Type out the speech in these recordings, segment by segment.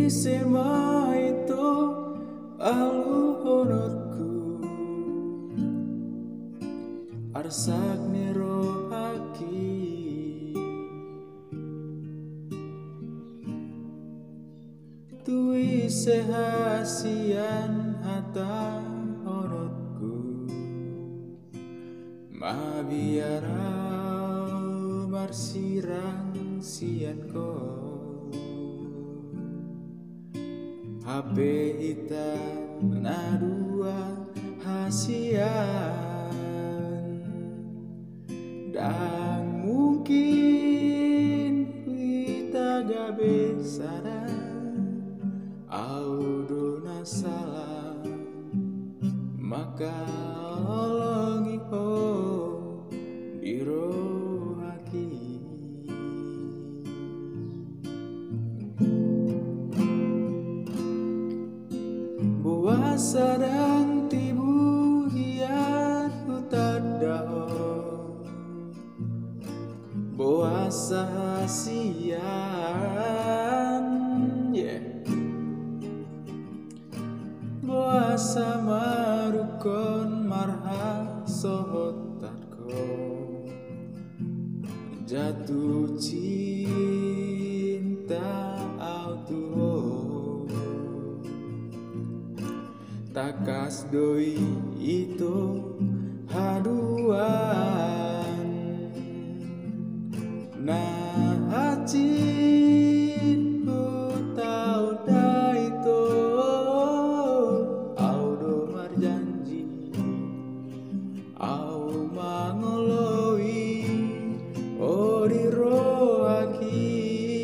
sema itu alunotku arsak niro haki tui sehasian hata honotku mabiarau marsirang sian ko HP ita nadua hasian dan mungkin kita gak besara audona salah maka olongi ho biro haki buasa dan tibu hiat hutadao buasa hasian buasa marukon marha sohotatko jatuh cinta autuho takas doi itu haduan nah hacin tau daito audo marjanji au mangoloi oriro haki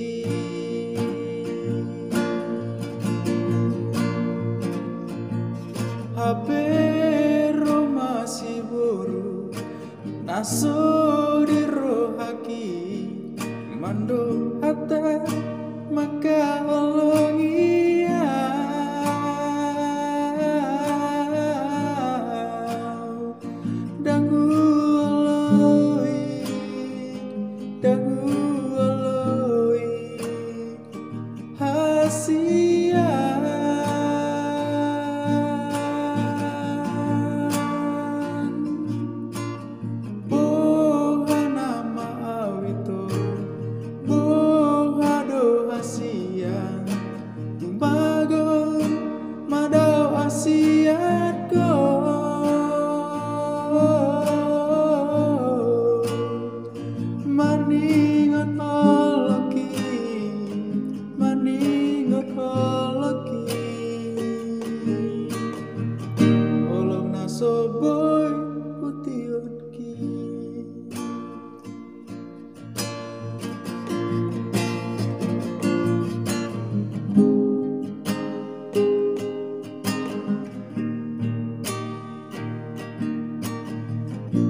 HP masih boru naso di rohaki mando